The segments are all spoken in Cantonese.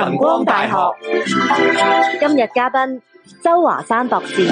晨光大學今日嘉賓周華山博士。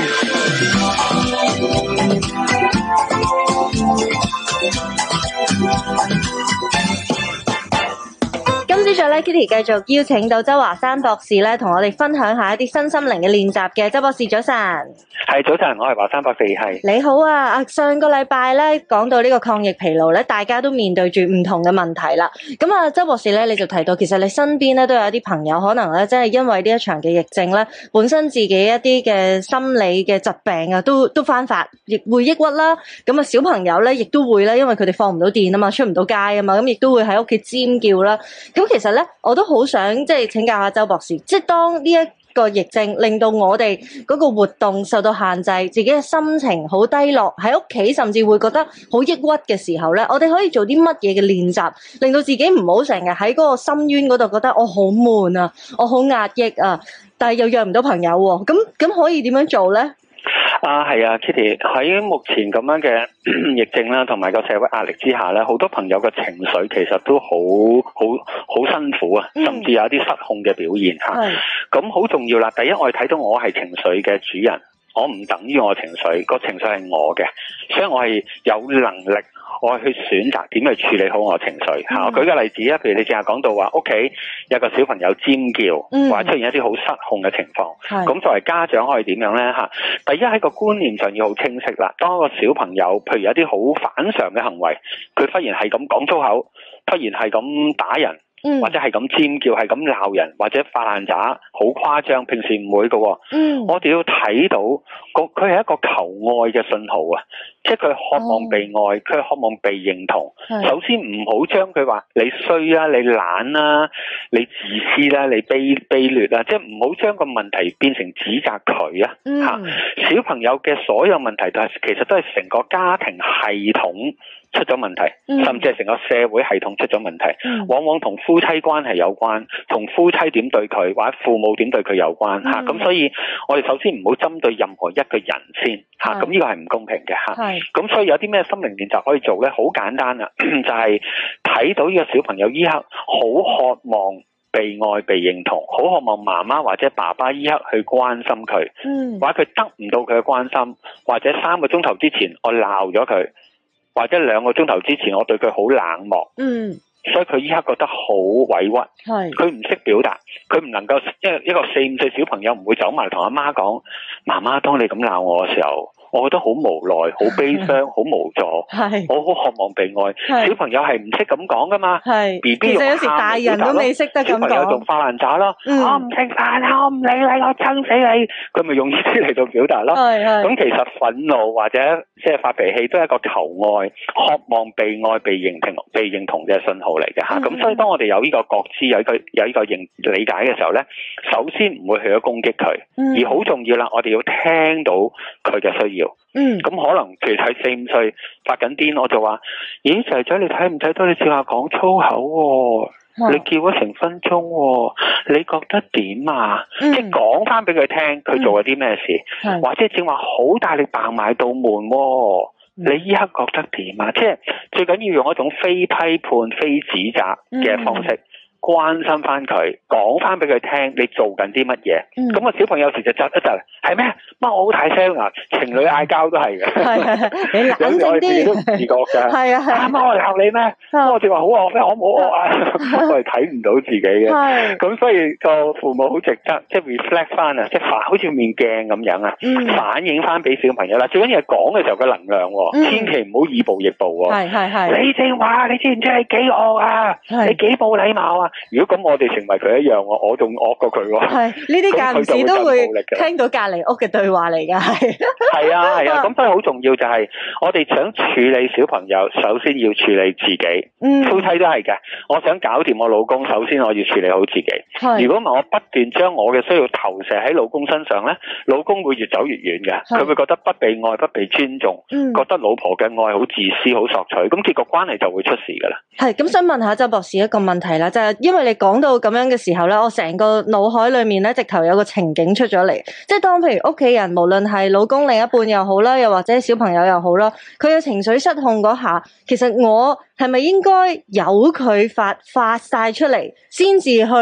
今朝早咧 Kitty 繼續邀請到周華山博士咧，同我哋分享下一啲身心靈嘅練習嘅。周博士早晨。 係早晨，我係華山博士。係你好啊！上個禮拜咧講到呢個抗疫疲勞咧，大家都面對住唔同嘅問題啦。咁啊，周博士咧你就提到，其實你身邊咧都有一啲朋友可能咧，真係因為呢一場嘅疫症咧，本身自己一啲嘅心理嘅疾病啊，都翻發，亦會抑鬱啦。咁啊，小朋友咧亦都會咧，因為佢哋放唔到電啊嘛，出唔到街啊嘛，咁亦都會喺屋企尖叫啦。咁其實咧，我都好想即係請教下周博士，即係當呢一個疫症令到我哋嗰個活動受到限制，自己嘅心情好低落，喺屋企甚至會覺得好抑鬱嘅時候咧，我哋可以做啲乜嘢嘅練習，令到自己唔好成日喺嗰個深淵嗰度覺得我好悶啊，我好壓抑啊，但係又約唔到朋友喎，咁可以點樣做咧？ 係啊 Kitty， 喺目前咁樣嘅疫症啦，同埋個社會壓力之下咧，好多朋友嘅情緒其實都好辛苦啊，甚至有一啲失控嘅表現吓。咁好重要啦，第一我哋睇到我係情緒嘅主人，我唔等於我情緒，個情緒係我嘅，所以我係有能力我去選擇點去處理好我情緒。我舉個例子啊，譬如你正話講到話屋企有個小朋友尖叫，或者出現一啲好失控嘅情況，咁作為家長可以點樣呢？第一喺個觀念上要好清晰啦。當一個小朋友譬如有啲好反常嘅行為，佢忽然係咁講粗口，忽然係咁打人，或者係咁尖叫，係咁鬧人，或者發爛渣，好誇張，平時唔會嘅。我哋要睇到佢係一個求愛嘅信號啊，即係佢渴望被愛，佢渴望被認同。首先唔好將佢話你衰啊，你懶啊，你自私啦，你卑劣啊，即係唔好將個問題變成指責佢啊。小朋友嘅所有問題其實都係成個家庭系統出咗問題，甚至係成個社會系統出咗問題，往往同夫妻關係有關，同夫妻點對佢，或者父母點對佢有關吓。咁所以我哋首先唔好針對任何一個人先吓，咁呢個係唔公平嘅吓。咁所以有啲咩心靈練習可以做咧？好簡單啊，就係睇到呢個小朋友依刻好渴望被愛被認同，好渴望媽媽或者爸爸依刻去關心佢，或者佢得唔到佢嘅關心，或者3個鐘頭之前我鬧咗佢，或者2個鐘頭之前我對佢好冷漠，所以佢依刻覺得好委屈，佢唔識表達，佢唔能夠，一個4、5歲小朋友唔會走埋同阿媽講，媽媽當你咁鬧我嘅時候，我覺得好無奈、好悲傷、好無助，我好渴望被愛。小朋友係唔識咁講噶嘛，BB 用喊嚟表達咯。其實有時大人都未識得咁講。小朋友仲發爛渣咯，我唔食飯，我唔理你，我憎死你。佢咪用呢啲嚟到表達咯。咁其實憤怒或者即係發脾氣都係一個求愛、渴望被愛、被認同嘅信號嚟嘅吓。咁所以當我哋有呢個覺知、有呢個理解嘅時候咧，首先唔會去咗攻擊佢，而好重要啦，我哋要聽到佢嘅需要。咁可能其實喺4、5歲發緊癲，我就話：咦，仔仔你睇唔睇到你試下講粗口喎？你叫咗成分鐘喎，你覺得點啊？即係講翻俾佢聽，佢做咗啲咩事，或者正話好大力嘭埋道門喎，你依刻覺得點啊？即係最緊要用一種非批判、非指責嘅方式。關心翻佢，講翻俾佢聽，你做緊啲乜嘢？咁個小朋友有時就窒一窒，係咩？乜我好大聲啊！情侶嗌交都係嘅， 你冷靜啲， 自己都唔自覺㗎。係啊，媽我鬧你咩？我哋話好惡咩？我冇惡啊！我係睇唔到自己嘅。咁所以個父母好值得即係 reflect 翻啊，即係好似面鏡咁樣啊，反映翻俾小朋友啦。最緊要係講嘅時候嘅能量，千祈唔好以暴易暴。你正話，你知唔知你幾惡啊？你幾冇禮貌啊？如果咁我哋成為佢一樣，我仲惡過佢喎。係呢啲間唔時都會聽到隔離屋嘅對話嚟㗎，係啊。咁所以好重要就係我哋想處理小朋友，首先要處理自己。夫妻都係嘅，我想搞掂我老公，首先我要處理好自己。如果唔係我不斷將我嘅需要投射喺老公身上咧，老公會越走越遠嘅。佢會覺得不被愛、不被尊重，覺得老婆嘅愛好自私、好索取，咁結果關係就會出事㗎啦。係咁，想問下周博士一個問題啦，就係因為你講到咁樣嘅時候咧，我成個腦海裏面咧，直頭有個情景出咗嚟，即係當譬如屋企人，無論係老公另一半又好啦，又或者小朋友又好啦，佢有情緒失控嗰下，其實我係咪應該由佢發晒出嚟，先至去接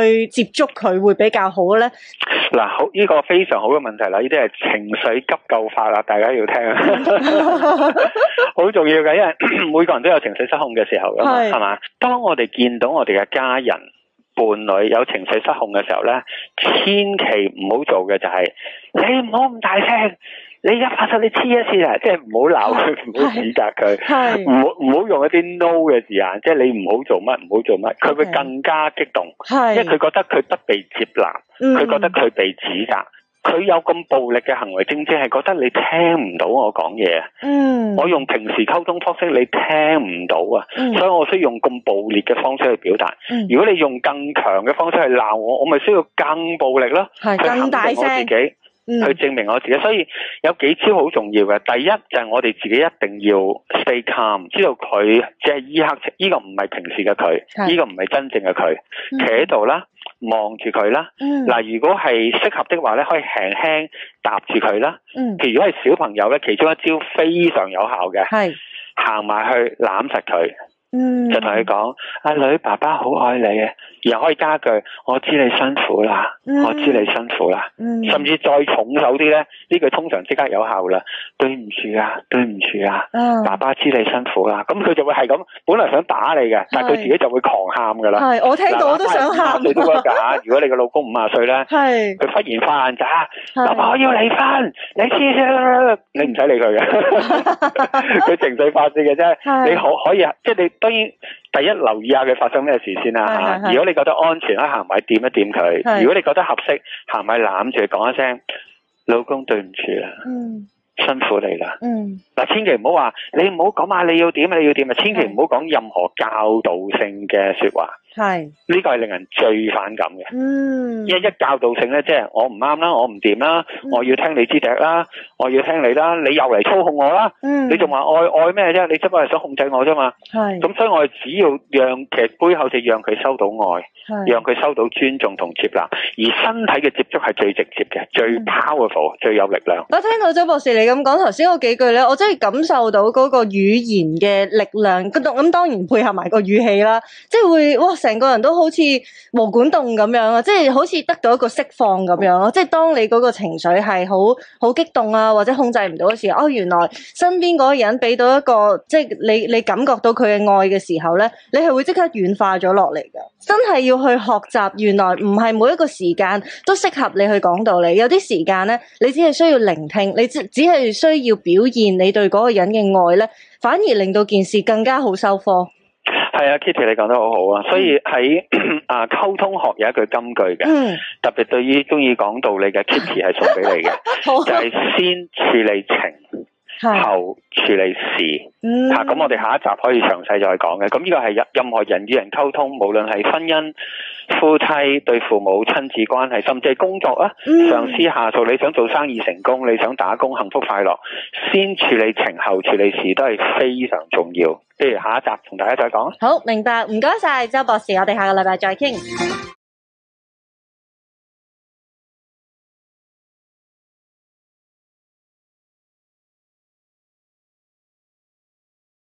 觸佢會比較好咧？ 嗱，好，呢個非常好嘅問題啦，呢啲係情緒急救法啦，大家要聽啊，好重要嘅，因為每個人都有情緒失控嘅時候噶嘛，係嘛？當我哋見到我哋嘅家人伴侶有情緒失控嘅時候咧，千祈唔好做嘅就係你唔好咁大聲。你而家發生你黐一次啊！即係唔好鬧佢，唔好指責佢，唔好用一啲 no 嘅字眼，即係你唔好做乜，唔好做乜，佢會更加激動，因為佢覺得佢不被接納，佢覺得佢被指責，佢有咁暴力嘅行為，正正係覺得你聽唔到我講嘢啊！我用平時溝通方式你聽唔到啊，所以我需要用咁暴烈嘅方式去表達。如果你用更強嘅方式去鬧我，我咪需要更暴力咯， 更大聲去肯定我自己。去證明我自己，所以有幾招好重要嘅。第一就係我哋自己一定要 stay calm， 知道佢即係依刻，呢個唔係平時嘅佢，呢個唔係真正嘅佢，企喺度啦，望住佢啦。嗱，如果係適合的話咧，可以輕輕搭住佢啦。譬如如果係小朋友咧，其中一招非常有效嘅，係行埋去攬實佢。就同佢講，阿女，爸爸好愛你啊，然後可以加句，我知你辛苦啦，我知你辛苦啦，甚至再重手啲咧，呢句通常即刻有效啦，對唔住啊，對唔住啊，爸爸知你辛苦啦，咁佢就會係咁，本來想打你嘅，但係佢自己就會狂喊噶啦。係， 我聽到我都想喊。 你都得噶，如果你個老公50歲咧，係佢忽然發爛渣，老婆我要離婚，你黐線，你唔使理佢嘅，佢情緒發泄嘅啫，你可以即係你。當然，第一留意下佢發生咩事先啦嚇。如果你覺得安全，可以行埋掂一掂佢；如果你覺得合適，行埋攬住佢講一聲：老公對唔住啦，辛苦你啦。嗱，千祈唔好話你唔好講話你要點啊，你要點啊，千祈唔好講任何教導性嘅説話。係呢個係令人最反感嘅。因為一教導性咧，即係我唔啱啦，我唔掂啦，我要聽你支笛啦，我要聽你啦，你又嚟操控我啦，你仲話愛咩啫？你只不過係想控制我啫嘛。係咁，所以我哋只要其實背後就讓佢收到愛，讓佢收到尊重同接納，而身體嘅接觸係最直接嘅，最 powerful，最有力量。 我聽到周博士你咁講頭先嗰幾句咧，我真係感受到嗰個語言嘅力量。咁當然配合埋個語氣啦，即係會哇！成個人都好似毛管戙咁樣啊，即係好似得到一個釋放咁樣咯。即係當你嗰個情緒係好激動啊，或者控制唔到嘅時候，原來身邊嗰個人俾到一個即係你感覺到佢嘅愛嘅時候咧，你係會即刻軟化咗落嚟㗎。真係要去學習，原來唔係每一個時間都適合你去講道理。有啲時間咧，你只係需要聆聽，你只係需要表現你對嗰個人嘅愛咧，反而令到件事更加好收科。 係啊 ，Kitty 你講得好好啊，所以喺溝通學有一句金句嘅，特別對於中意講道理嘅 Kitty 係送俾你嘅，就係先處理情，後處理事。咁我哋下一集可以詳細再講嘅。咁呢個係任何人與人溝通，無論係婚姻、夫妻、對父母、親子關係，甚至係工作啊，上司下屬，你想做生意成功，你想打工幸福快樂，先處理情，後處理事都係非常重要。不如下一集同大家再講。好，明白，唔該晒周博士，我哋下個禮拜再傾。